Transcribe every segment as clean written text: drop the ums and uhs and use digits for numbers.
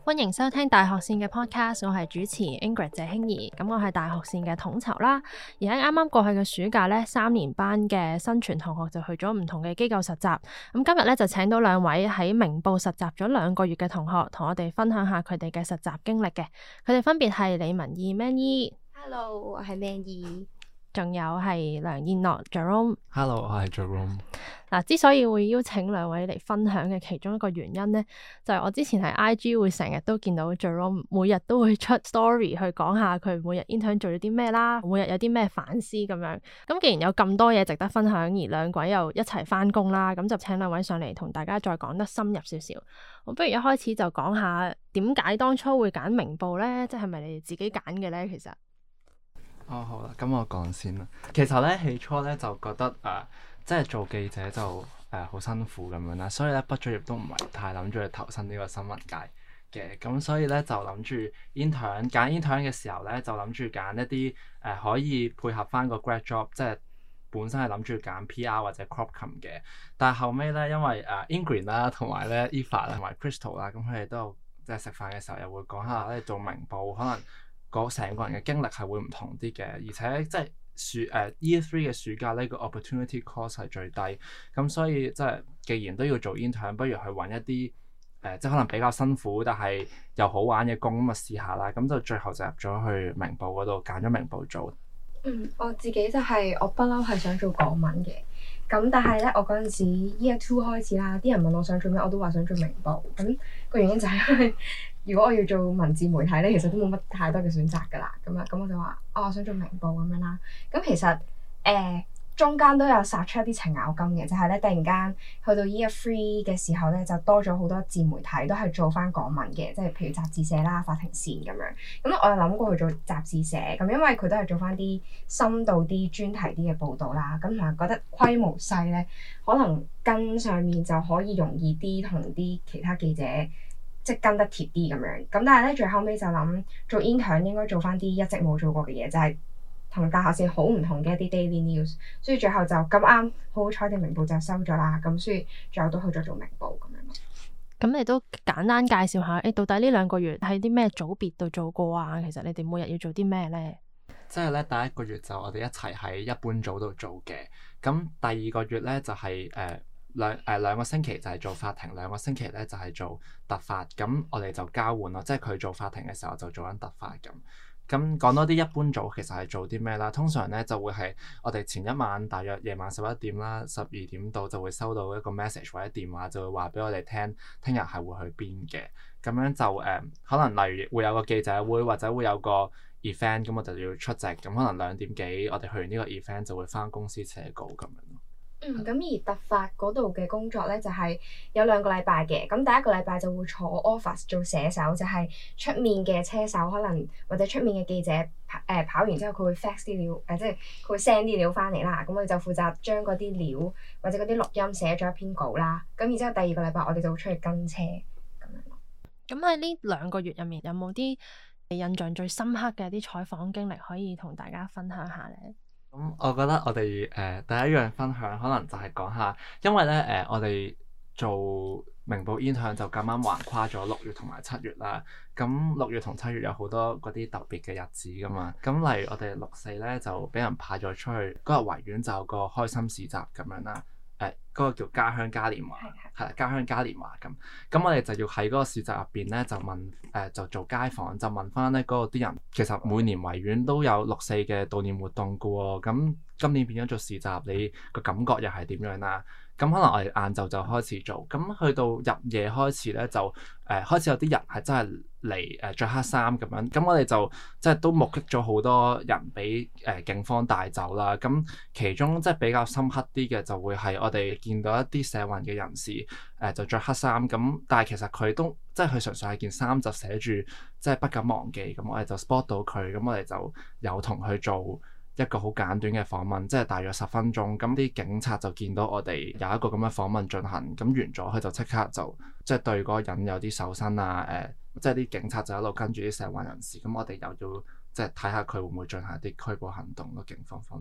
歡迎收聽大學線嘅 podcast， 我係主持 Ingrid 謝興怡。咁我係大學線嘅統籌啦。而喺啱啱過去嘅暑假呢，3年班嘅新傳同學就去咗唔同嘅機構實習。咁今日呢，就請到2位喺明報實習咗2個月嘅同學，同我哋分享下佢哋嘅實習經歷嘅。佢哋分別係李文義 Manny Hello，我係 Manny。 仲有係梁燕諾 Jerome。 Hello，我係 Jerome。 之所以會邀請2位嚟分享嘅其中一個原因呢，就係我之前喺 IG 會成日都見到 Jerome 每日都會出 story 去講下佢每日 intern 做咗啲咩啦，每日有啲咩反思咁樣。咁既然有咁多嘢值得分享，而2位又一齊返工啦，咁就請2位上嚟同大家再講得深入少少。我不如一開始就講下點解當初會揀明報呢？即係咪你哋自己揀嘅呢？其實好啦，咁我講先啦。其實咧起初咧就覺得即係做記者就好辛苦咁樣啦，所以咧畢咗業都唔係太諗住去投身呢個新聞界嘅，咁所以咧就諗住 intern 揀 intern 嘅時候咧就諗住揀一啲可以配合翻個 grad job， 即係本身係諗住揀 PR 或者 crop com 嘅，但係後尾咧因為Ingrid 啦同埋咧 Eva 同埋 Crystal 啦，咁佢哋都有即係食飯嘅時候又會講下咧做明報可能成個人嘅經歷係會唔同啲嘅，而且即係Year 3嘅暑假呢個 opportunity cost 係最低，咁所以即係既然都要做 intern， 不如去揾一啲即係可能比較辛苦但係又好玩嘅工咁啊試下啦，咁就最後就入咗去明報嗰度揀咗明報做。 我自己就係我不嬲係想做港文嘅，咁但係咧我嗰陣時 Year 2開始啦，啲人問我想做咩，我都話想做明報，咁個原因就係因為如果我要做文字媒體咧，其實都冇乜太多嘅選擇㗎啦，咁我就話我想做明報咁樣啦。咁其實中間都有殺出一啲程咬金嘅，就係咧突然間去到 Year 3嘅時候咧，就多咗好多自媒體都係做翻港文嘅，即係譬如雜誌社啦、法庭線咁樣。咁我有諗過去做雜誌社，咁因為佢都係做翻啲深度啲、專題啲嘅報導啦。咁同埋覺得規模細咧，可能跟上面就可以容易啲，同啲其他記者即係跟得貼啲咁樣。咁但係咧最後尾就諗做 intern 應該做翻啲一直冇做過嘅嘢，就係同大學線好唔同嘅一啲 daily news，所以最後就咁啱好彩地明報就收咗啦，咁所以最後都去咗做明報咁樣咯。 咁你都簡單介紹下，到底呢2個月喺啲咩組別度做過啊？其實你哋每日要做啲咩呢？ 即係咧第1個月就我哋一齊喺一般組度做嘅，咁第2個月咧就係兩個星期就係做法庭，2個星期咧就係做特法，咁我哋就交換咯，即係佢做法庭嘅時候就做緊特法咁。咁講多啲一般組其實係做啲咩啦？通常咧就會係我哋前一晚大約夜晚11點啦、12點到就會收到一個 message 或者電話，就會話俾我哋聽日係會去邊嘅。咁樣就可能例如會有個記者會或者會有個 event， 咁我就要出席。咁可能2點幾我哋去完呢個 event 就會返公司寫稿咁樣咯。 咁而特法嗰度嘅工作咧就係有2個禮拜嘅，咁第1個禮拜就會坐 office 做寫手，就係出面嘅車手可能或者出面嘅記者跑完之後佢會 fax 啲料，即係佢會 send 啲料翻嚟啦，咁我哋就負責將嗰啲料或者嗰啲錄音寫咗一篇稿啦，咁然之後第2個禮拜我哋就會出去跟車咁樣咯。咁喺呢2個月入面有冇啲印象最深刻嘅啲採訪經歷可以同大家分享下咧？ 咁我覺得我哋第一樣分享可能就係講下，因為咧我哋做明報 intern 就咁啱橫跨咗6月同埋7月啦。咁6月同7月有好多嗰啲特別嘅日子噶嘛。咁例如我哋6、4咧就俾人派咗出去，嗰日維園就有個開心市集咁樣啦。嗰個叫家鄉嘉年華，係啦，家鄉嘉年華咁。咁我哋就要喺嗰個市集入邊咧，就問就做街訪，就問翻咧嗰個啲人，其實每年維園都有6、4嘅悼念活動噶喎。咁今年變咗做市集，你個感覺又係點樣啦？咁可能我哋晏晝就開始做，咁去到入夜開始咧就開始有啲人係真係嚟著黑衫咁樣，咁我哋就即係都目擊咗好多人俾警方帶走啦。咁其中即係比較深刻啲嘅就會係我哋見到一啲社運嘅人士就着黑衫咁，但係其實佢都即係佢純粹係件衫就寫住即係不敢忘記，咁我哋就 spot 到佢，咁我哋就有同佢做一個好簡短嘅訪問，即係大約10分鐘。咁啲警察就見到我哋有一個咁嘅訪問進行，咁完咗佢就即刻就即係對嗰個人有啲搜身啊，即係啲警察就一路跟住啲社運人士，咁我哋又要即係睇下佢會唔會進行一啲拘捕行動咯，警方方面。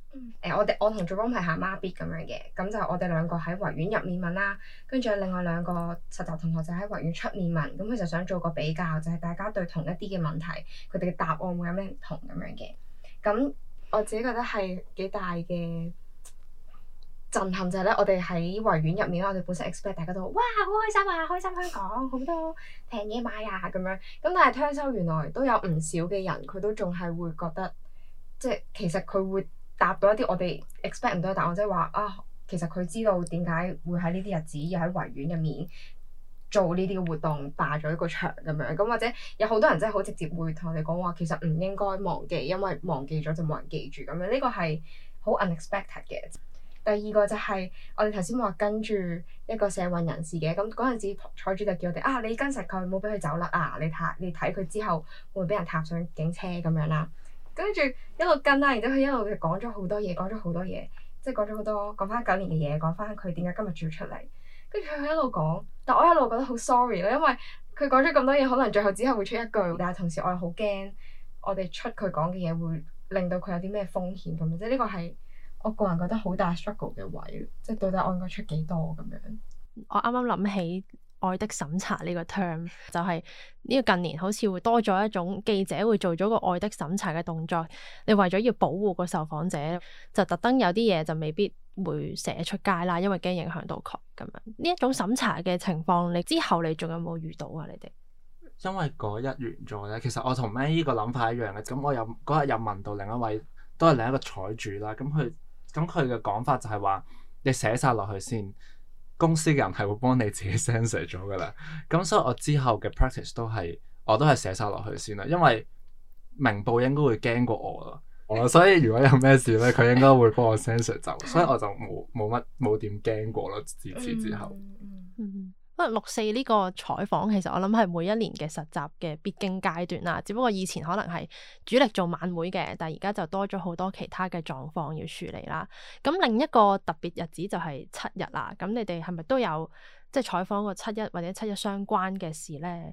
我同 Jerome 係行孖咇咁樣嘅，咁就我哋兩個喺維園入面問啦，跟住另外兩個實習同學就喺維園出面問，咁佢就想做個比較，就係大家對同一啲嘅問題，佢哋嘅答案會有咩唔同咁樣嘅。咁我自己覺得係幾大嘅震撼就係咧，我哋喺維園入面，我哋本身 expect 大家都哇好開心啊，開心香港好多平嘢買啊咁樣，咁但係聽收原來都有唔少嘅人，佢都仲係會覺得，即係其實佢會答到一啲我哋 expect 唔到嘅答案，即係話啊，其實佢知道點解會喺呢啲日子要喺維園入面做呢啲嘅活動，霸咗一個場咁樣，咁或者有好多人真係好直接會同我哋講話，其實唔應該忘記，因為忘記咗就冇人記住咁樣，呢個係好 unexpected 嘅。第二個就係我哋頭先話跟住一個社運人士嘅，咁嗰陣時彩主就叫我哋啊，你跟實佢，唔好俾佢走甩啊！你睇佢之後會唔會俾人踏上警車咁樣啦。跟住一路跟啦，然之後佢一路講咗好多嘢，即係講咗好多講翻9年嘅嘢，講翻佢點解今日仲要出嚟。跟住佢一路講，但我一路覺得好 sorry 咯，因為佢講咗咁多嘢，可能最後只係會出一句，但係同時我又好驚我哋出佢講嘅嘢會令到佢有啲咩風險咁樣，即係呢個係我個人覺得好大 struggle 嘅位，即係到底我應該出幾多咁樣。 我啱啱諗起愛的審查呢個 term， 就係呢個近年好似會多咗一種記者會做咗個愛的審查嘅動作，你為咗要保護個受訪者，就特登有啲嘢就未必會寫出街啦，因為驚影響到佢咁樣。呢一種審查嘅情況，你之後你仲有冇遇到啊？你哋？ 因為嗰日完咗咧，其實我同 May 個諗法一樣嘅，咁我嗰日又問到另一位都係另一個採主啦，咁佢嘅講法就係話，你寫晒落去先，公司嘅人係會幫你自己 censor 咗噶啦。咁所以我之後嘅 practice 我都係寫晒落去先啦，因為明報應該會驚過我咯，所以如果有咩事咧，佢應該會幫我 censor 走，所以我就冇點驚過咯。自此之後， 不過6·4呢個採訪其實我諗係每一年嘅實習嘅必經階段啦，只不過以前可能係主力做晚會嘅，但係而家就多咗好多其他嘅狀況要處理啦。咁另一個特別日子就係7日啦。咁你哋係咪都有即係採訪過7·1或者7·1相關嘅事呢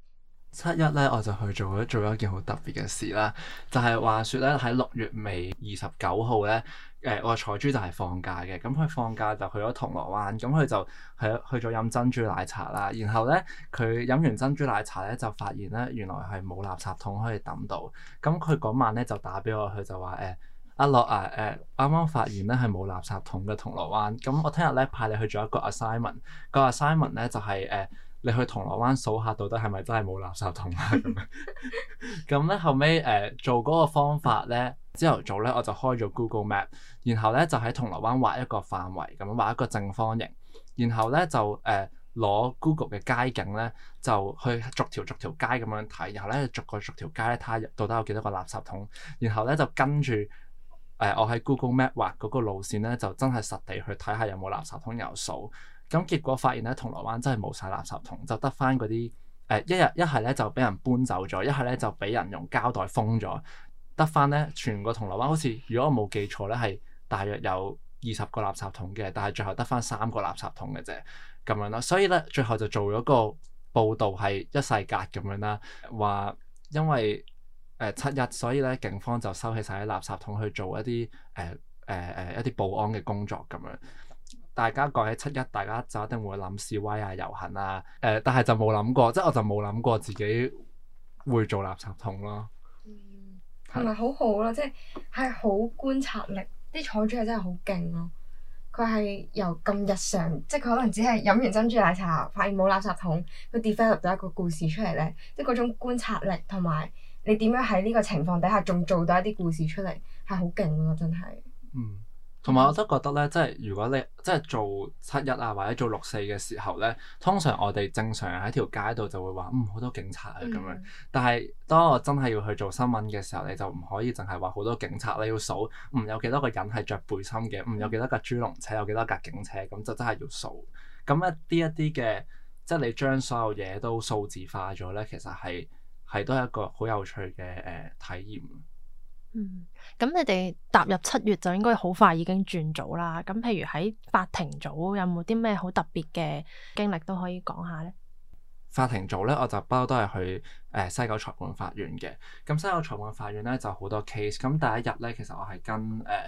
？7·1咧，我就去做咗一件好特別嘅事啦，就係話説咧喺6月尾29號咧，我嘅採珠就係放假嘅，咁佢放假就去咗銅鑼灣，咁佢就去咗飲珍珠奶茶啦。然後咧，佢飲完珍珠奶茶咧，就發現咧原來係冇垃圾桶可以抌到。咁佢嗰晚咧就打俾我，佢就話阿樂啊，啱啱發現咧係冇垃圾桶嘅銅鑼灣。咁我聽日咧派你去做一個 assignment，個 assignment 咧就係你去銅鑼灣數下到底係咪真係冇垃圾桶啊咁樣。咁咧後尾做嗰個方法咧，朝頭早咧我就開咗 Google Map， 然後咧就喺銅鑼灣畫一個範圍，咁畫一個正方形，然後咧就攞 Google 嘅街景咧就去逐條街咁樣睇，然後咧逐條街咧睇下到底有幾多個垃圾桶，然後咧就跟住我喺 Google Map 畫嗰個路線咧，就真係實地去睇下有冇垃圾桶有數。咁結果發現咧，銅鑼灣真係冇晒垃圾桶，就得翻嗰啲一係咧就俾人搬走咗，一係咧就俾人用膠袋封咗，得翻咧全個銅鑼灣好似如果我冇記錯咧係大約有20個垃圾桶嘅，但係最後得翻3個垃圾桶嘅啫咁樣啦。所以咧最後就做咗個報導係一世格咁樣啦，話因為7·1，所以咧警方就收起晒啲垃圾桶去做一啲一啲保安嘅工作咁樣。大家講起7·1，大家就一定會諗示威啊、遊行啊，但係就冇諗過，即係我就冇諗過自己會做垃圾桶咯。 係咪好好咯？即係好觀察力，啲採主係真係好勁咯。佢係由咁日常，即係佢可能只係飲完珍珠奶茶，發現冇垃圾桶，佢 develop 咗一個故事出嚟咧。即係嗰種觀察力同埋你點樣喺呢個情況底下仲做到一啲故事出嚟，係好勁咯，真係。 同埋我都覺得咧，即係如果你即係做7·1啊，或者做6·4嘅時候咧，通常我哋正常人喺條街度就會話好多警察啊咁樣。但係當我真係要去做新聞嘅時候，你就唔可以淨係話好多警察，你要數有幾多個人係着背心嘅，有幾多架豬籠車，有幾多架警車，咁就真係要數。咁一啲嘅，即係你將所有嘢都數字化咗咧，其實係都係一個好有趣嘅體驗。 咁你哋踏入7月就應該好快已經轉組啦。咁譬如喺法庭組有冇啲咩好特別嘅經歷都可以講下呢？ 法庭組咧，我就不嬲都係去西九裁判法院嘅。咁西九裁判法院咧就好多 case。咁第一日咧，其實我係跟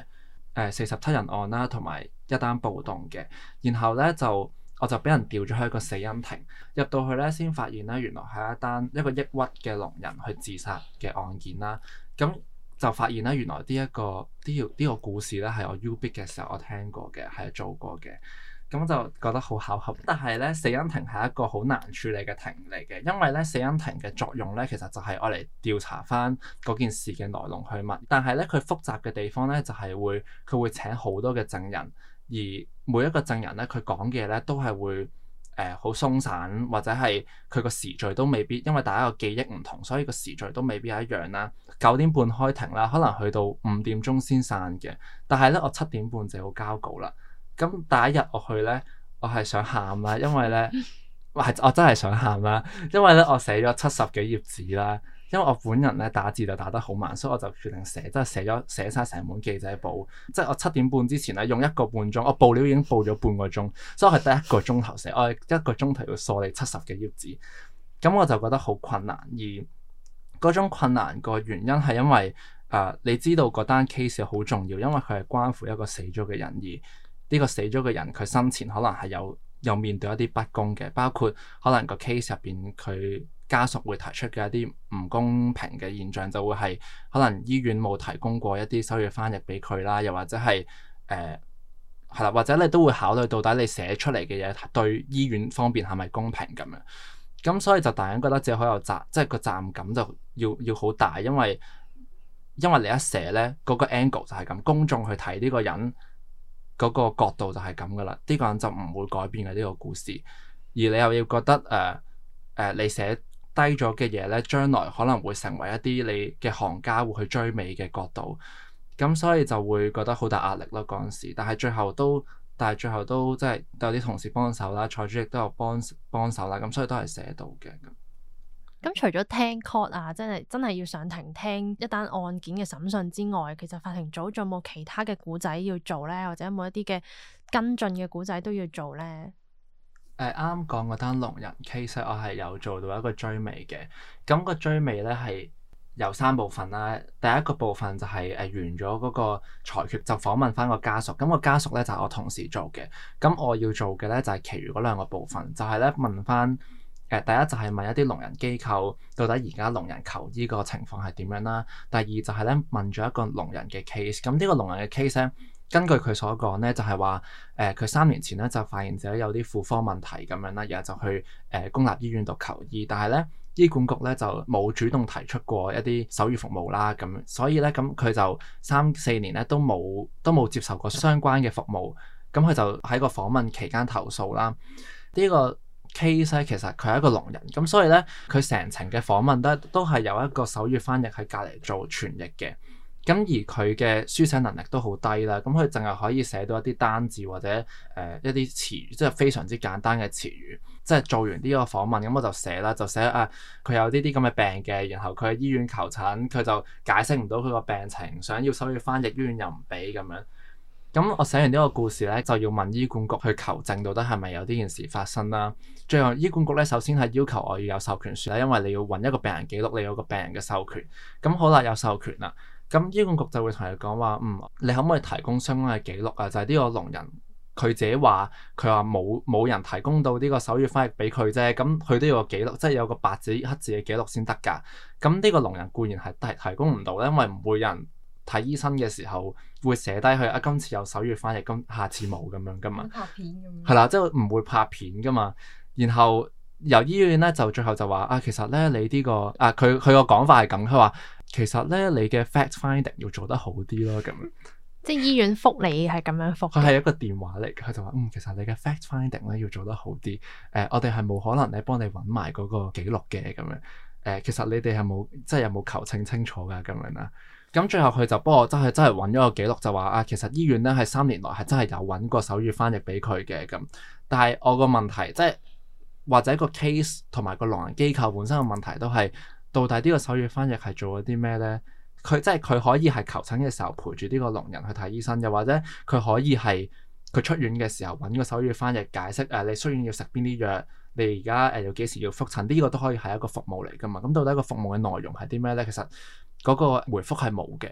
47人案啦，同埋一單暴動嘅。然後咧我就俾人調咗去一個死因庭，入到去咧先發現咧，原來係一個抑鬱嘅聾人去自殺嘅案件啦。咁就發現咧，原來呢個故事咧係我 UB 嘅時候我聽過嘅，係做過嘅。咁就覺得好巧合。但係咧，死因庭係一個好難處理嘅庭嚟嘅，因為咧死因庭嘅作用咧，其實就係愛嚟調查翻嗰件事嘅來龍去脈。但係咧，佢複雜嘅地方咧，就係佢會請好多嘅證人，而每一個證人咧，佢講嘅嘢咧都係會好鬆散，或者係佢個時序都未必，因為大家個記憶唔同，所以個時序都未必係一樣啦。9點半開庭啦，可能去到5點鐘先散嘅。但係咧，我7點半就要交稿啦。咁第一日我去咧，我係想喊啦，因為咧，我真係想喊啦，因為咧我寫咗70幾頁紙啦。因為我本人咧打字就打得好慢，所以我就決定寫寫晒成本記者簿。即係我7點半之前咧，用1個半鐘，我報料已經報咗半個鐘，所以我係得1個鐘頭寫，我係1個鐘頭要梳理70幾頁紙。咁我就覺得好困難，而嗰種困難個原因係因為你知道嗰單 case 好重要，因為佢係關乎一個死咗嘅人，而呢個死咗嘅人佢生前可能係有面對一啲不公嘅，包括可能個 case 入邊佢家屬會提出嘅一啲唔公平嘅現象，就會係可能醫院冇提供過一啲手語翻譯俾佢啦，又或者係係啦，或者你都會考慮到底你寫出嚟嘅嘢對醫院方面係咪公平咁樣。咁所以就大人覺得自己好有即係個責任感就要好大，因為你一寫咧嗰個 angle 就係咁，公眾去睇呢個人嗰個角度就係咁噶啦，呢個人就唔會改變嘅呢個故事，而你又要覺得你寫低咗嘅嘢咧，將來可能會成為一啲你嘅行家會去追尾嘅角度，咁所以就會覺得好大壓力咯嗰陣時。但係最後都即係都有啲同事幫手啦，蔡主席都有幫手啦，咁所以都係寫到嘅。 咁除咗聽 court 啊，真係要上庭聽一單案件嘅審訊之外，其實法庭組仲有冇其他嘅古仔要做咧？或者有冇一啲嘅跟進嘅古仔都要做咧？ 啱啱講嗰單聾人 case，我係有做到一個追尾嘅。咁個追尾咧係有3部分啦。第一個部分就係完咗嗰個裁決，就訪問翻個家屬。咁個家屬咧就係我同事做嘅。咁我要做嘅咧就係其餘嗰2個部分，就係咧問翻第一就係問一啲聾人機構到底而家聾人求醫個情況係點樣啦。第二就係咧問咗一個聾人嘅 case。咁呢個聾人嘅 case 咧，根據佢所講咧，就係話佢3年前咧就發現自己有啲婦科問題咁樣啦，然後就去公立醫院度求醫，但係咧醫管局咧就冇主動提出過一啲手語服務啦，咁所以咧咁佢就3-4年咧都冇接受過相關嘅服務，咁佢就喺個訪問期間投訴啦。呢個 case 咧其實佢係一個聾人，咁所以咧佢成程嘅訪問都係有一個手語翻譯喺隔離做傳譯嘅。咁而佢嘅書寫能力都好低啦，咁佢淨係可以寫到一啲單字或者一啲詞語，即係非常之簡單嘅詞語。即係做完呢個訪問，咁我就寫啦，就寫佢有呢啲咁嘅病嘅，然後佢喺醫院求診，佢就解釋唔到佢個病情，想要手語翻譯，醫院又唔俾咁樣。咁我寫完呢個故事咧，就要問醫管局去求證到底係咪有呢件事發生啦。最後醫管局咧，首先係要求我要有授權書啦，因為你要揾一個病人記錄，你有個病人嘅授權。咁好啦，有授權啦。咁醫管局就會同你講話，你可唔可以提供相關嘅記錄啊？就係呢個聾人佢自己話，佢話冇人提供到呢個手語翻譯俾佢啫。咁佢都要個記錄，即係有個白紙黑字嘅記錄先得㗎。咁呢個聾人固然係提供唔到咧，因為唔會有人睇醫生嘅時候會寫低佢今次有手語翻譯，咁下次冇咁樣㗎嘛。 拍片咁樣。 係啦，即係唔會拍片㗎嘛。然後由醫院咧就最後就話其實咧你呢個佢個講法係咁，佢話其實咧你嘅 fact finding 要做得好啲咯，咁樣。 即係醫院覆你係咁樣覆。 佢係一個電話嚟嘅，佢就話其實你嘅 fact finding 咧要做得好啲。我哋係冇可能咧幫你揾埋嗰個記錄嘅咁樣。其實你哋係冇即係有冇求證清楚㗎咁樣啦。咁最後佢就幫我真係揾咗個記錄，就話其實醫院咧係3年內係真係有揾過手語翻譯俾佢嘅咁。但係我個問題即係或者個 case 同埋個聾人機構本身嘅問題都係，到底呢個手語翻譯係做咗啲咩咧？佢即係佢可以係求診嘅時候陪住呢個聾人去睇醫生，又或者佢可以係佢出院嘅時候揾個手語翻譯解釋你出院要食邊啲藥，你而家要幾時要覆診，呢個都可以係一個服務嚟㗎嘛。咁到底個服務嘅內容係啲咩咧？其實嗰個回覆係冇嘅。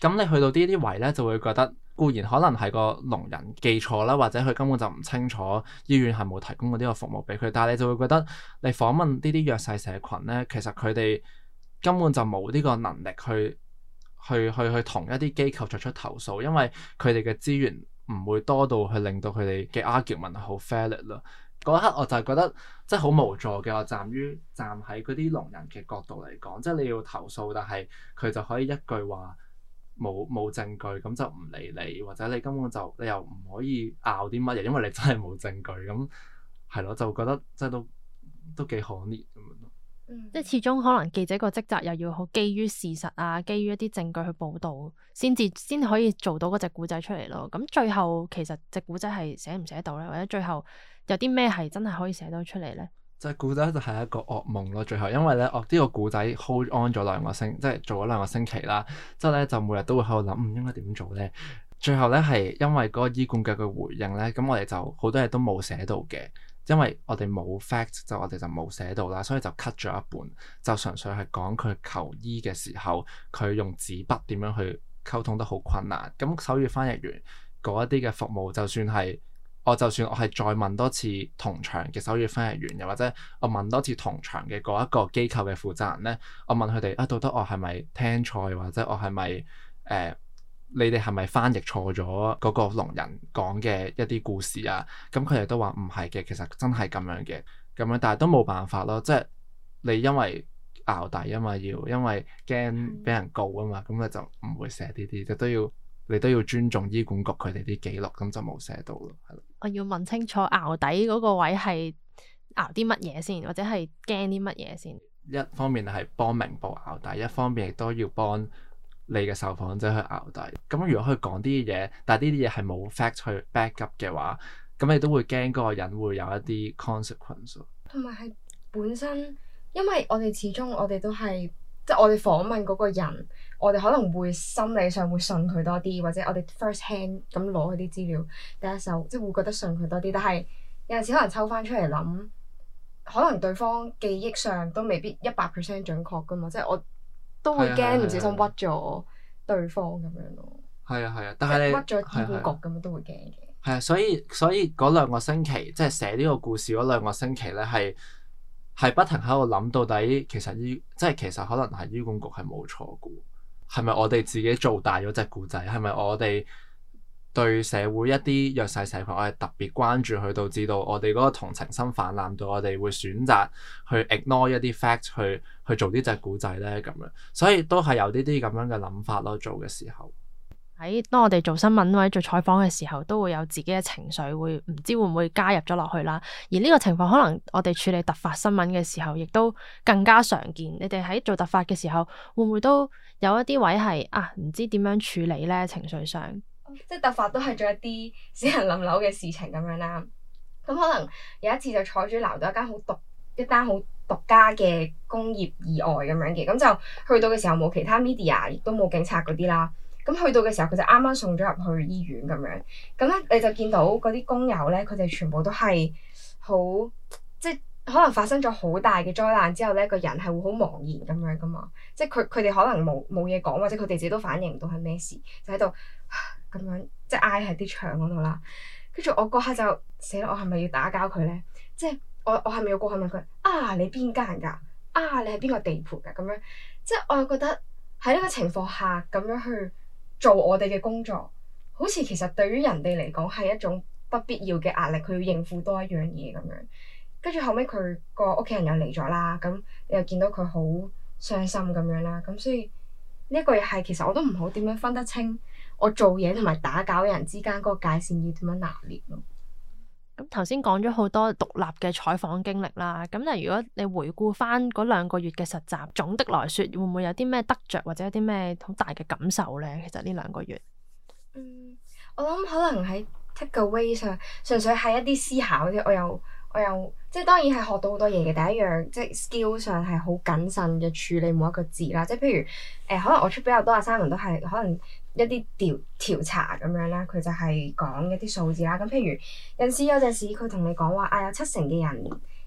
咁你去到呢啲位咧，就會覺得固然可能係個聾人記錯啦，或者佢根本就唔清楚醫院係冇提供過呢個服務俾佢，但係你就會覺得你訪問呢啲弱勢社群咧，其實佢哋根本就冇呢個能力去同一啲機構作出投訴，因為佢哋嘅資源唔會多到去令到佢哋嘅 argument 係好 valid 咯。嗰一刻我就係覺得即係好無助嘅。我站喺嗰啲聾人嘅角度嚟講，即係你要投訴，但係佢就可以一句話冇證據，咁就唔理你，或者你根本就你又唔可以拗啲乜嘢，因為你真係冇證據。咁係咯，就覺得即係都幾可憐咁樣咯。 即係始終可能記者個職責又要好基於事實啊，基於一啲證據去報導，先可以做到嗰隻古仔出嚟咯。咁最後其實隻古仔係寫唔寫到咧，或者最後有啲咩係真係可以寫到出嚟咧？ 隻古仔就係一個噩夢咯。最後因為咧，我呢個古仔 hold on 咗即係做咗2個星期啦。之後咧就每日都會喺度諗，應該點做咧？最後咧係因為嗰個醫管局嘅回應咧，咁我哋就好多嘢都冇寫到嘅。因為我哋冇 fact， 我哋就冇寫到啦，所以就 cut 咗一半，就純粹係講佢求醫嘅時候，佢用紙筆點樣去溝通得好困難。咁手語翻譯員嗰一啲嘅服務，就算我係再問多次同場嘅手語翻譯員，又或者我問多次同場嘅嗰一個機構嘅負責人咧，我問佢哋到底我係咪聽錯，或者我係咪你哋係咪翻譯錯咗嗰個聾人講嘅一啲故事啊？咁佢哋都話唔係嘅，其實真係咁樣嘅，咁樣，但係都冇辦法咯。即係你因為淆底啊嘛，因為驚俾人告啊嘛，咁你就唔會寫呢啲，你都要尊重醫管局佢哋啲記錄，咁就冇寫到咯，係咯。 我要問清楚淆底嗰個位係淆啲乜嘢先，或者係驚啲乜嘢先？ 一方面係幫明報淆底，一方面亦都要幫你嘅受訪者去淆底。咁如果佢講啲嘢，但係呢啲嘢係冇 fact 去 back up 嘅話，咁你都會驚嗰個人會有一啲 consequence。 同埋係本身，因為我哋始終我哋都係即係我哋訪問嗰個人，我哋可能會心理上會信佢多啲，或者我哋 first hand 咁攞佢啲資料第一手，即係會覺得信佢多啲。但係有陣時可能抽翻出嚟諗，可能對方記憶上都未必100% 準確噶嘛，即係我都會驚唔小心屈咗對方咁樣咯。係啊，但係你屈咗醫管局咁樣都會驚嘅。 係啊，所以嗰2個星期，即係寫呢個故事嗰2個星期咧，係不停喺度諗到底其實可能係醫管局係冇錯嘅，係咪我哋自己做大咗隻故仔？係咪我哋對社會一啲弱勢社群，我係特別關注佢，導致到我哋嗰個同情心泛濫到我哋會選擇去 ignore 一啲 fact 去做呢隻古仔咧咁樣，所以都係有呢啲咁樣嘅諗法咯。做嘅時候， 喺當我哋做新聞或者做採訪嘅時候，都會有自己嘅情緒，會唔知會唔會加入咗落去啦。而呢個情況可能我哋處理突發新聞嘅時候，亦都更加常見。你哋喺做突發嘅時候，會唔會都有一啲位係唔知點樣處理咧？情緒上？ 即係突發都係做一啲死人冧樓嘅事情咁樣啦。咁可能有一次就坐住鬧到一單好獨家嘅工業意外咁樣嘅，咁就去到嘅時候冇其他 media， 亦都冇警察嗰啲啦。咁去到嘅時候，佢就啱啱送咗入去醫院咁樣。咁咧你就見到嗰啲工友咧，佢哋全部都係好即係可能發生咗好大嘅災難之後咧，個人係會好茫然咁樣噶嘛。即係佢哋可能冇嘢講，或者佢哋自己都反應唔到係咩事，就喺度咁樣即係挨喺啲牆嗰度啦。跟住我嗰下就死啦！我係咪要打攪佢咧？即係我係咪要過去問佢你邊間㗎？你係邊個地盤㗎？咁樣即係我又覺得喺呢個情況下咁樣去做我哋嘅工作，好似其實對於人哋嚟講係一種不必要嘅壓力，佢要應付多一樣嘢咁樣。跟住後尾佢個屋企人又嚟咗啦，咁你又見到佢好傷心咁樣啦。咁所以呢一個又係其實我都唔好點樣分得清我做嘢同埋打攪人之間嗰個界線要點樣拿捏咯。 咁頭先講咗好多獨立嘅採訪經歷啦，咁但係如果你回顧翻嗰2個月嘅實習，總的來說會唔會有啲咩得着或者有啲咩好大嘅感受咧？其實呢2個月， 我諗可能喺 take away 上，純粹係一啲思考啲，我又即係當然係學到好多嘢嘅。第一樣即係 skill 上係好謹慎嘅處理每一個字啦。即係譬如可能我出比較多assignment都係可能一啲調查咁樣啦，佢就係講一啲數字啦。咁譬如有陣時佢同你講話有70%嘅人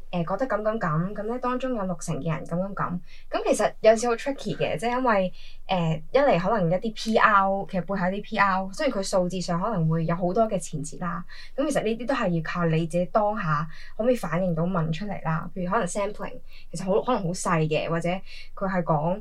覺得咁咧，當中有60%嘅人咁，咁其實有時好 tricky 嘅，即係因為一嚟可能一啲 PR 其實背後啲 PR，雖然佢數字上可能會有好多嘅前設啦，咁其實呢啲都係要靠你自己當下可唔可以反映到問出嚟啦。譬如可能 sampling 其實可能好細嘅，或者佢係講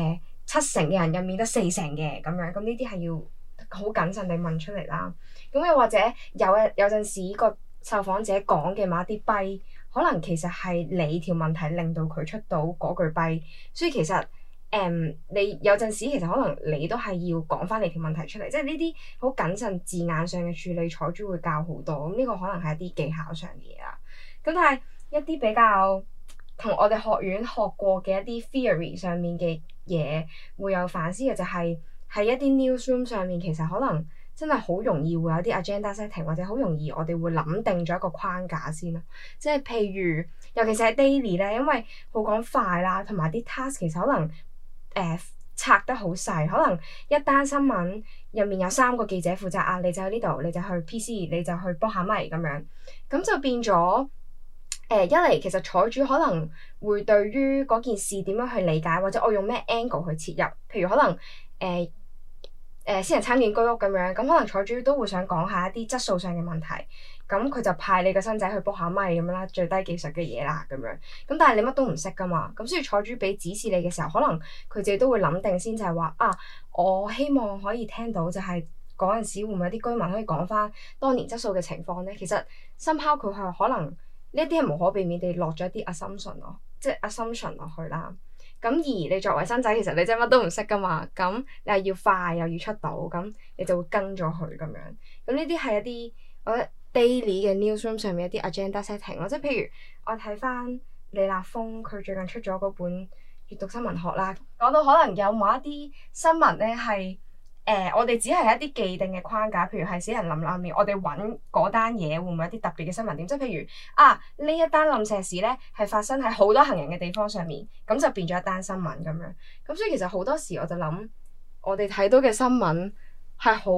70%嘅人入面得40%嘅咁樣，咁呢啲係要好謹慎地問出嚟啦。咁又或者有陣時個受訪者講嘅某一啲弊，可能其實係你條問題令到佢出到嗰句弊，所以其實你有陣時其實可能你都係要講翻你條問題出嚟，即係呢啲好謹慎字眼上嘅處理，採主會教好多。咁呢個可能係一啲技巧上嘅嘢啦。咁但係一啲比較同我哋學院學過嘅一啲 theory 上面嘅嘢會有反思嘅，就係喺一啲 newsroom 上面，其實可能真係好容易會有啲 agenda setting， 或者好容易我哋會諗定咗一個框架先咯。即係譬如，尤其是喺 daily 咧，因為好講快啦，同埋啲 task 其實可能拆得好細，可能一單新聞入面有3個記者負責啊，你就喺呢度，你就去 PC， 你就去幫下咪咁樣，咁就變咗一嚟其實採主可能會對於嗰件事點樣去理解，或者我用咩 angle 去切入，譬如可能私人參建居屋咁樣，咁可能採主都會想講下一啲質素上嘅問題，咁佢就派你個新仔去卜下咪咁樣啦，最低技術嘅嘢啦咁樣，咁但係你乜都唔識噶嘛，咁所以採主俾指示你嘅時候，可能佢自己都會諗定先，就係話我希望可以聽到就係嗰陣時會唔會有啲居民可以講翻當年質素嘅情況咧？其實somehow佢係可能呢啲係無可避免地落咗一啲 assumption 咯，即係 assumption 落去啦。咁而你作為新仔，其實你真係乜都唔識噶嘛，咁你係要快又要出到，咁你就會跟咗佢咁樣。咁呢啲係一啲我覺得 daily 嘅 newsroom 上面一啲 agenda setting 咯，即係譬如我睇翻李立峰佢最近出咗嗰本閱讀新聞學啦，講到可能有某一啲新聞咧係我哋只係一啲既定嘅框架，譬如係死人冧樓面，我哋揾嗰單嘢會唔會有啲特別嘅新聞點？即係譬如呢一單冧石屎咧係發生喺好多行人嘅地方上面，咁就變咗一單新聞咁樣。咁所以其實好多時我就諗，我哋睇到嘅新聞係好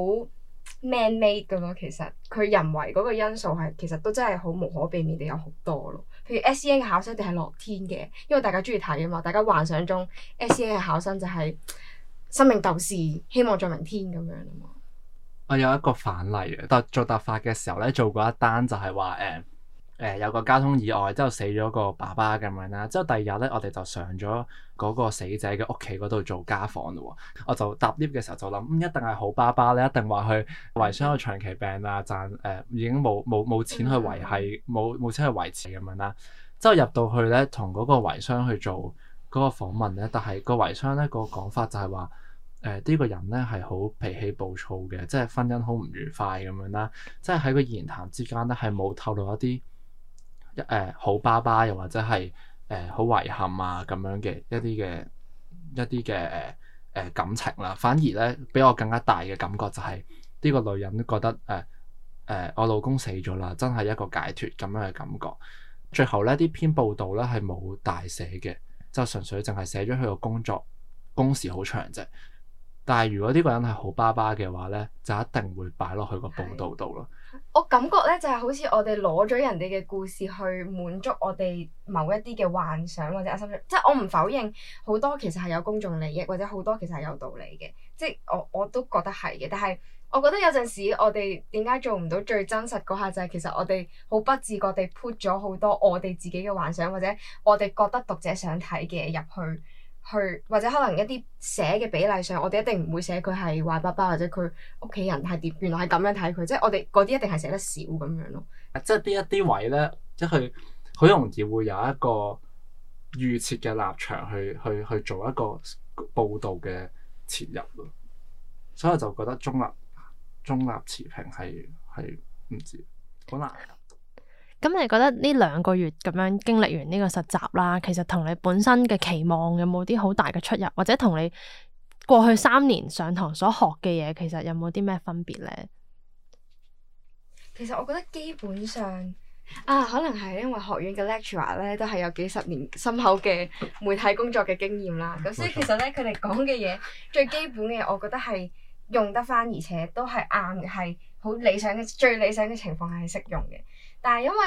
man-made 㗎咯。其實佢人為嗰個因素係其實都真係好無可避免地有好多咯。譬如 SEN 嘅考生一定係樂天嘅，因為大家中意睇啊嘛，大家幻想中 SEN 嘅考生就係生命鬥士，希望在明天咁樣啊嘛。 我有一個反例嘅，但做突發嘅時候咧，做過一單就係話有個交通意外之後死咗個爸爸咁樣啦。之後第二日咧，我哋就上咗嗰個死者嘅屋企嗰度做家訪咯。我就搭 lift 嘅時候就諗，一定係好爸爸咧，一定話佢遺孀有長期病啊，已經冇錢去維係，冇錢去維持咁樣啦。之後入到去咧，同嗰個遺孀去做嗰個訪問咧，但係個遺孀咧個講法就係話呢個人咧係好脾氣暴躁嘅，即係婚姻好唔愉快咁樣啦。即係喺個言談之間咧係冇透露一啲好爸爸又或者係好遺憾啊咁樣嘅一啲嘅感情啦。反而咧俾我更加大嘅感覺就係呢個女人覺得我老公死咗啦，真係一個解脫咁樣嘅感覺。最後咧啲篇報道咧係冇大寫嘅，就純粹淨係寫咗佢個工時好長啫。但係如果呢個人係好爸爸嘅話咧，就一定會擺落去個報道度咯。 我感覺咧就係好似我哋攞咗人哋嘅故事去滿足我哋某一啲嘅幻想或者心想，即係我唔否認好多其實係有公眾利益，或者好多其實係有道理嘅，即係我都覺得係嘅。但係我覺得有陣時我哋點解做唔到最真實嗰下，就係其實我哋好不自覺地 put 咗好多我哋自己嘅幻想，或者我哋覺得讀者想睇嘅入去，或者可能一啲寫嘅比例上，我哋一定唔會寫佢係壞爸爸，或者佢屋企人係點，原來係咁樣睇佢，即係我哋嗰啲一定係寫得少咁樣咯。 即係呢一啲位咧，即係佢好容易會有一個預設嘅立場去做一個報導嘅切入咯。所以我就覺得中立持平係唔知好難。 咁你覺得呢2個月咁樣經歷完呢個實習啦，其實同你本身嘅期望有冇啲好大嘅出入，或者同你過去3年上堂所學嘅嘢，其實有冇啲咩分別咧？ 其實我覺得基本上可能係因為學院嘅 lecturer 咧都係有幾十年深厚嘅媒體工作嘅經驗啦，咁所以其實咧佢哋講嘅嘢最基本嘅嘢，我覺得係用得返，而且都係啱嘅，係好理想嘅，最理想嘅情況係適用嘅。但係因為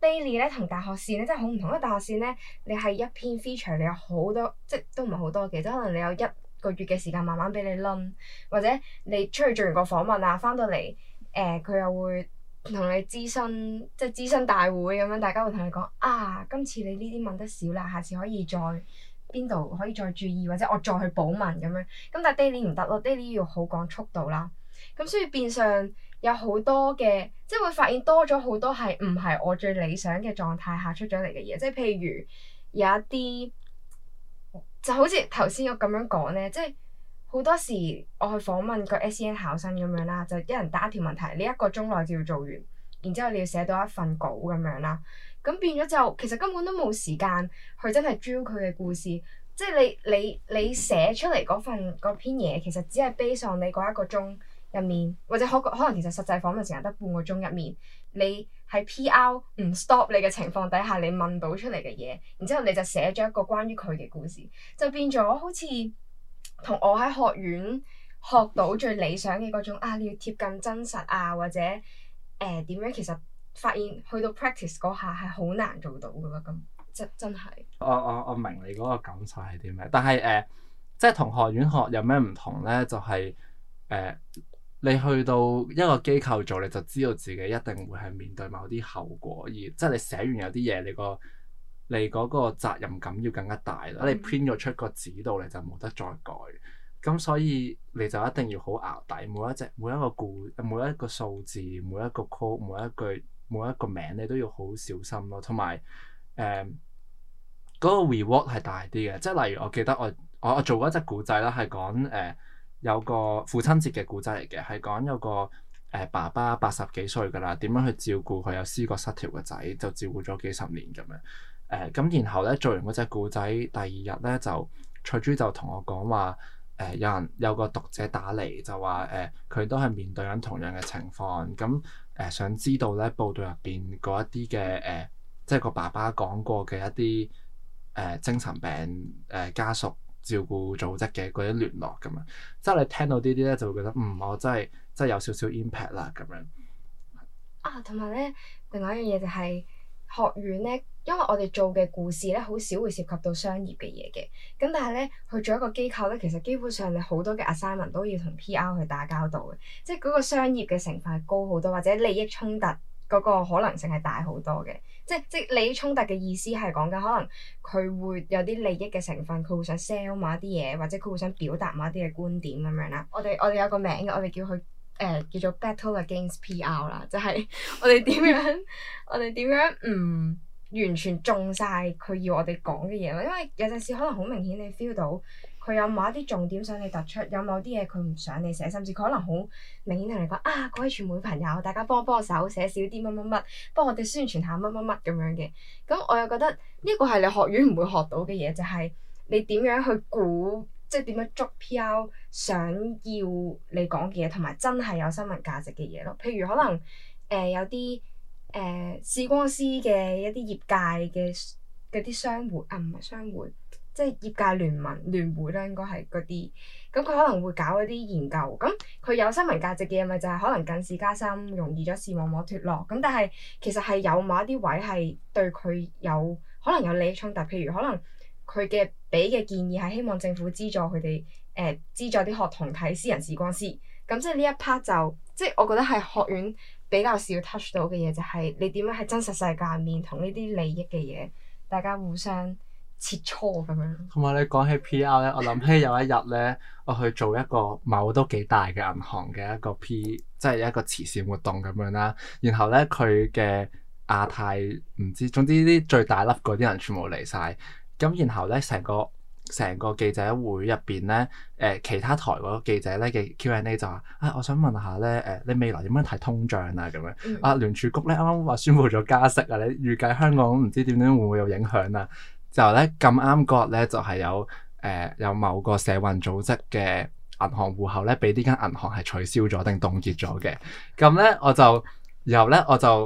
daily 咧同大學線咧真係好唔同，因為大學線咧你係一篇 feature，你有好多即係都唔係好多嘅，即係可能你有1個月嘅時間慢慢俾你撚，或者你出去做完個訪問啊，翻到嚟佢又會同你諮詢，即係諮詢大會咁樣，大家會同你講啊，今次你呢啲問得少啦，下次可以再邊度可以再注意，或者我再去補問咁樣。咁但係 daily 唔得咯，daily 要好講速度啦。咁所以變相有好多嘅，即係會發現多咗好多係唔係我最理想嘅狀態下出咗嚟嘅嘢，即係譬如有一啲就好似頭先我咁樣講咧，即係好多時我去訪問個 SEN 考生咁樣啦，就一人答一條問題，你1個鐘內就要做完，然之後你要寫到一份稿咁樣啦。咁變咗就其實根本都冇時間去真係 drill 佢嘅故事，即係你寫出嚟嗰篇嘢，其實只係 base on你嗰1個鐘入面，或者可能其實實際訪問時間得半個鐘入面，你喺 PR 唔 stop 你嘅情況底下，你問到出嚟嘅嘢，然之後你就寫咗一個關於佢嘅故事，就變咗好似同我喺學院學到最理想嘅嗰種你要貼近真實啊，或者點樣，其實發現去到 practice 嗰下係好難做到噶啦，咁真係。我明你嗰個感受係啲咩，但係即係同學院學有咩唔同咧？就係你去到一個機構做，你就知道自己一定會係面對某啲後果，而即係你寫完有啲嘢，你嗰個責任感要更加大啦。你 print 咗出個紙度，你就冇得再改。咁所以你就一定要好淆底，每一個數字、每一個 code、每一句、每一個名，你都要好小心咯。同埋嗰個 reward 係大啲嘅，即係例如我記得我做過一隻古仔啦，係講有個父親節嘅故仔嚟嘅，係講有個爸爸80幾歲㗎啦，點樣去照顧佢有思覺失調嘅仔，就照顧咗幾十年咁樣。咁然後咧做完嗰隻故仔，第2日咧就翠珠就同我講話，有個讀者打嚟就話佢都係面對緊同樣嘅情況，咁想知道咧報道入邊嗰一啲嘅即係個爸爸講過嘅一啲精神病家屬照顧組織嘅嗰啲聯絡咁樣，即係你聽到呢啲咧就會覺得我真係有少少 impact 啦咁樣。 同埋咧，另外一樣嘢就係學院咧，因為我哋做嘅故事咧，好少會涉及到商業嘅嘢嘅。咁但係咧，去做一個機構咧，其實基本上你好多嘅 assignment 都要同 PR 去打交道嘅，即係嗰個商業嘅成分係高好多，或者利益衝突嗰個可能性係大好多嘅。即係利益衝突嘅意思係講緊可能佢會有啲利益嘅成分，佢會想 sell 某一啲嘢，或者佢會想表達某一啲嘅觀點咁樣啦。我哋有個名嘅，我哋叫佢叫做 Battle Against PR 啦，就係我哋點樣唔完全中晒佢要我哋講嘅嘢咯。因為有陣時可能好明顯你 feel 到佢有某一啲重點想你突出，有某啲嘢佢唔想你寫，甚至佢可能好明顯同你講各位傳媒朋友，大家幫我手寫少啲乜乜乜，幫我哋宣傳下乜乜乜咁樣嘅。咁我又覺得呢個係你學院唔會學到嘅嘢，就係你點樣去估，即係點樣捉 PR 想要你講嘅嘢，同埋真係有新聞價值嘅嘢咯。譬如可能有啲視光師嘅一啲業界嘅嗰啲商會唔係商會，即係業界聯會啦，應該係嗰啲。咁佢可能會搞一啲研究，咁佢有新聞價值嘅嘢咪就係可能近視加深，容易咗視網膜脫落。咁但係其實係有某一啲位係對佢可能有利益衝突，譬如可能佢嘅俾嘅建議係希望政府資助佢哋資助啲學童睇私人視光師。咁即係呢一 part 就即係我覺得係學院比較少 touch 到嘅嘢，就係你點樣喺真實世界入面同呢啲利益嘅嘢大家互相切磋咁樣。 同埋你講起 PR 咧，我諗起有一日咧，我去做一個某都幾大嘅銀行嘅一個即係一個慈善活動咁樣啦。然後咧佢嘅亞太唔知，總之啲最大粒嗰啲人全部嚟晒。咁然後咧成個記者會入邊咧，其他台嗰個記者咧嘅 Q&A 就話我想問下咧，你未來點樣睇通脹啊咁樣？聯儲局咧啱啱話宣布咗加息啊，你預計香港唔知點樣會唔會有影響啊？就咧咁啱嗰日咧就係有某個社運組織嘅銀行戶口咧，俾呢間銀行係取消咗定凍結咗嘅。咁咧然後咧我就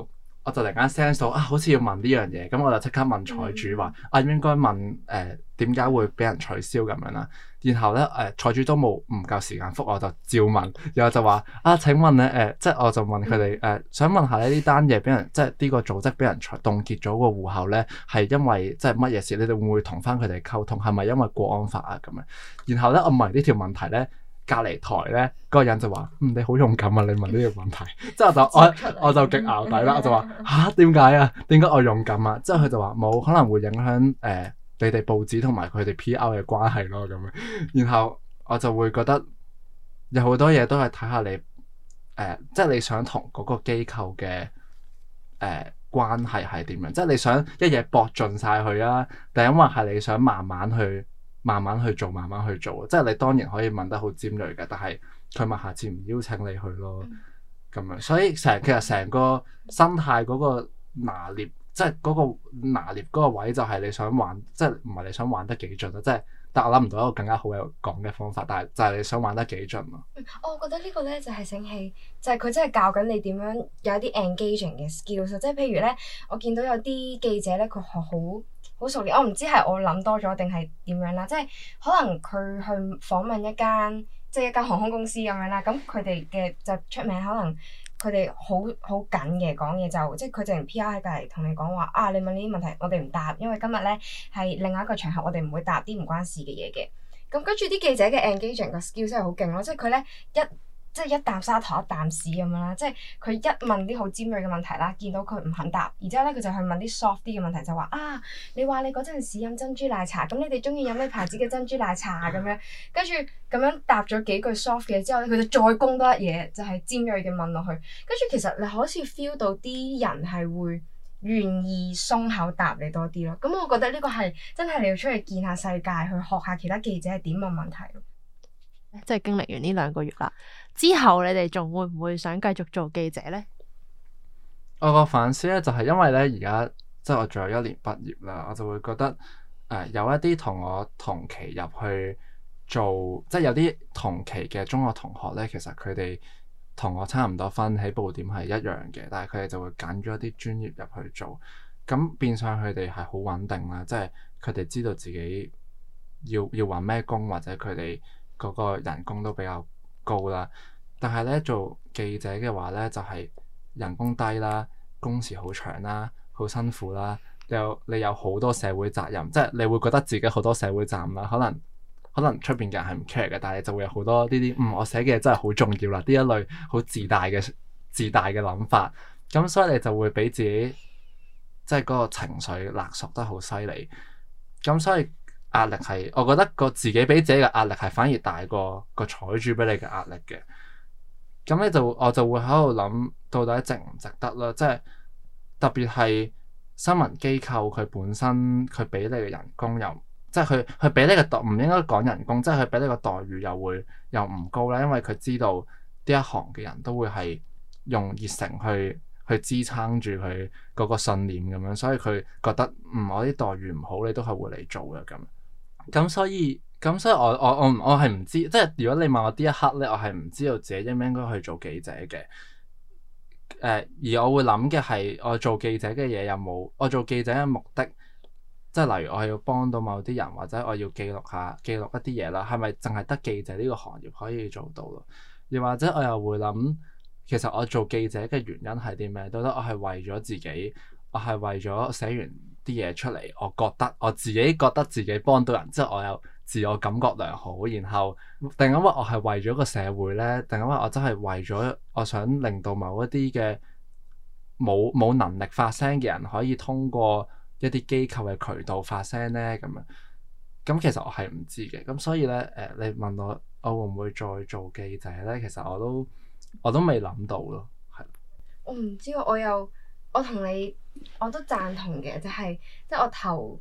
我就突然間 sense 到好似要問呢樣嘢，咁我就即刻問彩主話應該問點解會俾人取消咁樣啦。然後咧彩主都冇唔夠時間覆，我就照問，然後就話請問咧即係我就問佢哋想問下呢單嘢俾人即係呢個組織俾人凍結咗個戶口咧，係因為即係乜嘢事？你哋會唔會同翻佢哋溝通？係咪因為國安法啊咁樣？然後咧我問呢條問題咧，隔離台咧嗰個人就話你好勇敢啊！你問呢個問題，即係我就極淆底啦，我就話點解啊？點解我勇敢啊？之後佢就話冇可能會影響你哋報紙同埋佢哋 PR 嘅關係咯咁樣。然後我就會覺得有好多嘢都係睇下你即係你想同嗰個機構嘅關係係點樣？即係你想一嘢搏盡晒佢啊，定因為係你想慢慢去做，慢慢去做。即係你當然可以問得好尖鋭嘅，但係佢咪下次唔邀請你去咯咁樣。所以其實成個生態嗰個拿捏，即係嗰個拿捏嗰個位就係你想玩，即係唔係你想玩得幾盡咯？即係，但我諗唔到一個更加好嘅講嘅方法，但係就係你想玩得幾盡咯。 我覺得呢個咧就係醒起，就係佢真係教緊你點樣有一啲 engaging 嘅 skills。即係譬如咧，我見到有啲記者咧，佢學好熟練，我唔知係我諗多咗定係點樣啦。即係可能佢去訪問一間航空公司咁樣啦，咁佢哋嘅就出名，可能佢哋好緊嘅講嘢，就即係佢淨係 PR 喺隔離同你講話你問呢啲問題，我哋唔答，因為今日咧係另外一個場合，我哋唔會答啲唔關事嘅嘢嘅。咁跟住啲記者嘅 engaging 個 skill 真係好勁咯，即係佢咧一啖沙糖一啖屎咁樣啦，即係佢一問啲好尖鋭嘅問題啦，見到佢唔肯答，然之後咧佢就去問啲 soft 啲嘅問題，就話你話你嗰陣時飲珍珠奶茶，咁你哋中意飲咩牌子嘅珍珠奶茶咁樣，跟住咁樣答咗幾句 soft 嘅之後咧，佢就再攻多一嘢，就係尖鋭嘅問落去，跟住其實你好似 feel 到啲人係會願意鬆口答你多啲咯。咁我覺得呢個係真係你要出去見下世界，去學下其他記者係點問問題咯。 即係經歷完呢2個月啦，之後你哋仲會唔會想繼續做記者呢？ 我個反思咧就係因為咧而家即係我仲有1年畢業啦，我就會覺得有一啲同我同期入去做，即係有啲同期嘅中學同學咧，其實佢哋同我差唔多分起步點係一樣嘅，但係佢哋就會揀咗一啲專業入去做，咁變相佢哋係好穩定啦，即係佢哋知道自己要揾咩工，或者佢哋嗰個人工都比較高啦。但係咧做記者嘅話咧，就係人工低啦，工時好長啦，好辛苦啦，你有好多社會責任，即係你會覺得自己好多社會責任啦。可能出邊嘅人係唔 care 嘅，但係你就會有好多呢啲我寫嘅嘢真係好重要啦，呢一類好自大嘅諗法。咁所以你就會俾自己即係嗰個情緒勒索得好犀利。咁所以壓力係，我覺得自己俾自己嘅壓力係反而大過個彩主俾你嘅壓力嘅。咁我就會喺度諗，到底值唔值得啦？即係特別係新聞機構佢本身佢俾你嘅人工又即係佢俾你嘅唔應該講人工，即係佢俾你個待遇又唔高啦。因為佢知道呢一行嘅人都會係用熱誠去支撐住佢嗰個信念咁樣，所以佢覺得我啲待遇唔好，你都係會嚟做嘅咁。咁所以我係唔知，即係如果你問我呢一刻咧，我係唔知道自己應唔應該去做記者嘅。而我會諗嘅係，我做記者嘅嘢有冇？我做記者嘅目的，即係例如我係要幫到某啲人，或者我要記錄一啲嘢啦，係咪淨係得記者呢個行業可以做到咯？又或者我又會諗，其實我做記者嘅原因係啲咩？到底我係為咗自己，我係為咗寫完啲嘢出嚟，我自己覺得自己幫到人，之後我有自我感覺良好，然後定因為我係為咗個社會呢？定因為我真係為咗我想令到某一啲嘅冇能力發聲嘅人可以通過一啲機構嘅渠道發聲呢？咁其實我係唔知嘅。咁所以呢，你問我會唔會再做記者呢？其實我都未諗到咯。係我唔知，我同你我都贊同嘅，就係即係我頭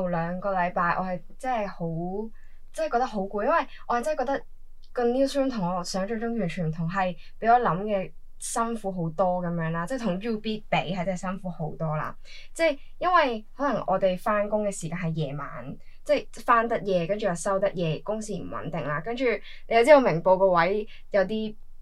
2個禮拜我係真係覺得好攰，因為我係真係覺得個 newsroom 同我想象中完全唔同，係比我諗嘅辛苦好多咁樣啦，即係同 UB 比係真係辛苦好多啦。即係因為可能我哋翻工嘅時間係夜晚，即係翻得夜，跟住又收得夜，工時唔穩定啦。跟住你又知道明報個位有啲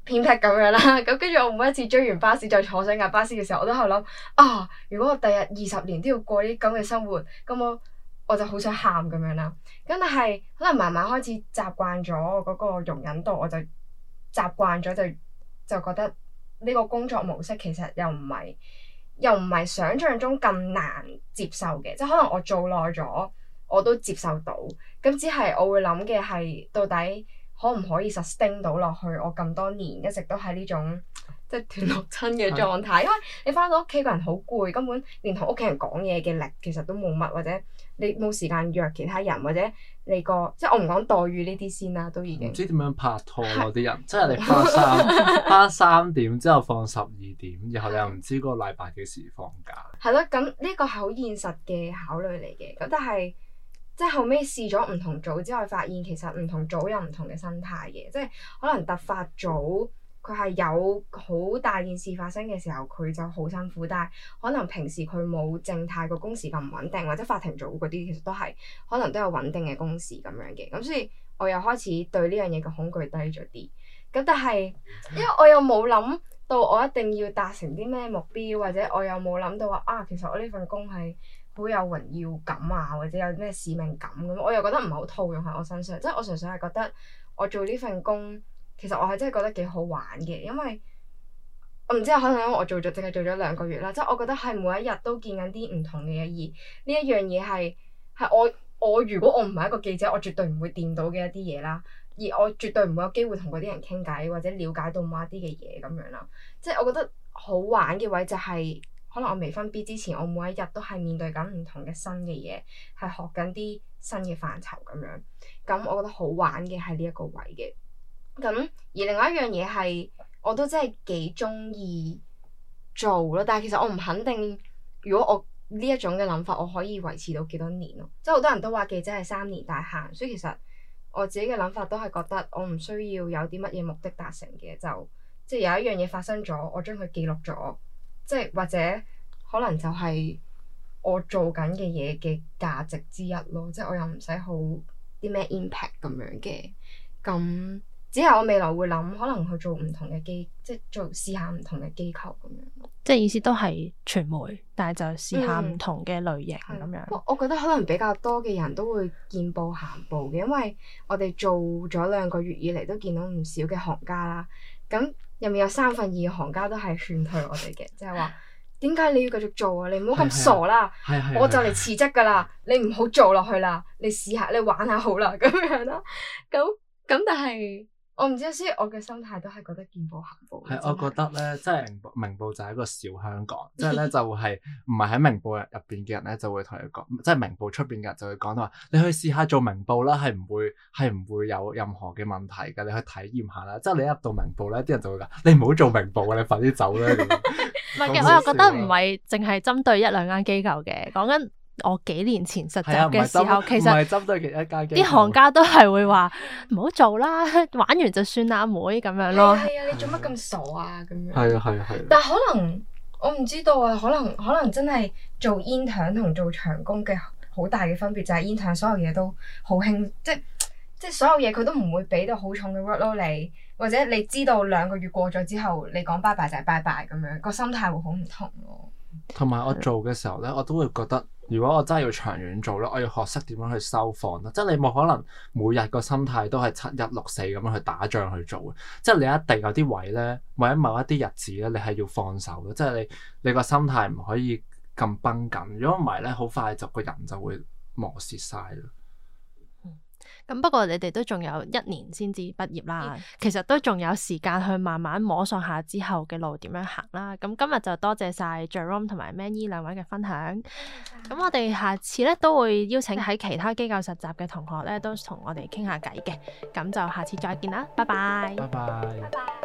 偏僻咁樣啦。咁跟住我每一次追完巴士再坐上架巴士嘅時候，我都喺度諗啊，如果我第日20年都要過啲咁嘅生活，咁我就好想喊咁樣啦。咁但係可能慢慢開始習慣咗嗰個容忍度，我就習慣咗就覺得呢個工作模式其實又唔係想像中咁難接受嘅，即係可能我做耐咗我都接受到。咁只係我會諗嘅係到底可唔可以 sustain 到落去？我咁多年一直都喺呢種即係斷六親嘅狀態，因為你翻到屋企個人好攰，根本連同屋企人講嘢嘅力其實都冇乜，或者你冇時間約其他人，或者你即係我唔講待遇呢啲先啦，都已經唔知點樣拍拖咯啲人，即係你翻3點之後放12點，然後你又唔知嗰個禮拜幾時放假。 係咯，咁呢個係好現實嘅考慮嚟嘅。咁但係即係後尾試咗唔同組之後，發現其實唔同組有唔同嘅生態嘅，即係可能突發組佢係有好大件事發生嘅時候，佢就好辛苦，但係可能平時佢冇靜態個工時咁穩定，或者法庭組嗰啲其實都係可能都有穩定嘅工時咁樣嘅。咁所以我又開始對呢樣嘢嘅恐懼低咗啲。咁但係因為我又冇諗到我一定要達成啲咩目標，或者我又冇諗到話其實我呢份工係好有榮耀感啊，或者有咩使命感咁，我又覺得唔係好套用喺我身上。即係我純粹係覺得我做呢份工，其實我係真係覺得幾好玩嘅，因為我唔知可能因為我淨係做咗2個月啦，即係我覺得係每一日都見緊啲唔同嘅嘢，而呢一樣嘢係我如果我唔係一個記者，我絕對唔會掂到嘅一啲嘢啦，而我絕對唔會有機會同嗰啲人傾偈或者了解到某一啲嘅嘢咁樣啦。即係我覺得好玩嘅位就係可能我未分 B 之前，我每一日都係面對緊唔同嘅新嘅嘢，係學緊啲新嘅範疇咁樣。咁我覺得好玩嘅係呢一個位嘅。咁而另外一樣嘢係我都真係幾中意做咯，但係其實我唔肯定如果我呢一種嘅諗法我可以維持到幾多年咯。即係好多人都話記者係3年大限，所以其實我自己嘅諗法都係覺得我唔需要有啲乜嘢目的達成嘅，就即係有一樣嘢發生咗，我將佢記錄咗，即係或者可能就係我做緊嘅嘢嘅價值之一咯。即係我又唔使好啲咩 impact 咁樣嘅，咁只係我未來會諗可能去做唔同嘅即係試下唔同嘅機構咁樣。 即係意思都係傳媒，但係就試下唔同嘅類型咁樣。 我覺得可能比較多嘅人都會見步行步嘅，因為我哋做咗2個月以嚟都見到唔少嘅行家啦。咁入面有2/3嘅行家都係勸退我哋嘅，即係話點解你要繼續做啊？你唔好咁傻啦！我就嚟辭職㗎啦，你唔好做落去啦，你試下你玩下好啦咁樣啦。咁但係我唔知，所以我嘅心態都係覺得見步行步。 係，我覺得咧，即係明報就係一個小香港，即係咧就係唔係喺明報入邊嘅人咧，就會同你講，即係明報出邊嘅人就會講到話，你去試下做明報啦，係唔會有任何嘅問題㗎，你去體驗下啦。即係你一入到明報咧，啲人就會講，你唔好做明報啊，你快啲走啦。 唔係嘅，我又覺得唔係淨係針對1-2間機構嘅，講緊我幾年前實習嘅時候，其實唔係針對其他間機構， 啲行家都係會話唔好做啦，玩完就算啦，阿妹咁樣咯。 係啊，你做乜咁傻啊？咁樣。 係啊。 但係可能我唔知道啊，可能真係做 intern 同做長工嘅好大嘅分別就係 intern 所有嘢都好輕，即係所有嘢佢都唔會俾到好重嘅 workload 你，或者你知道2個月過咗之後，你講拜拜就係拜拜咁樣，個心態會好唔同咯。 同埋我做嘅時候咧，我都會覺得，如果我真係要長遠做咧，我要學識點樣去收放啦。即係你冇可能每日個心態都係7-1-6-4咁樣去打仗去做嘅。即係你一定有啲位咧，或者某一啲日子咧，你係要放手嘅。即係你個心態唔可以咁繃緊，如果唔係咧，好快就個人就會磨蝕晒啦。 咁不過你哋都仲有1年先至畢業啦，其實都仲有時間去慢慢摸索下之後嘅路點樣行啦。咁今日就多謝晒 Jerome 同埋 Manny 2位嘅分享。咁我哋下次咧都會邀請喺其他機構實習嘅同學咧，都同我哋傾下偈嘅。咁就下次再見啦，拜拜。 拜拜。 拜拜。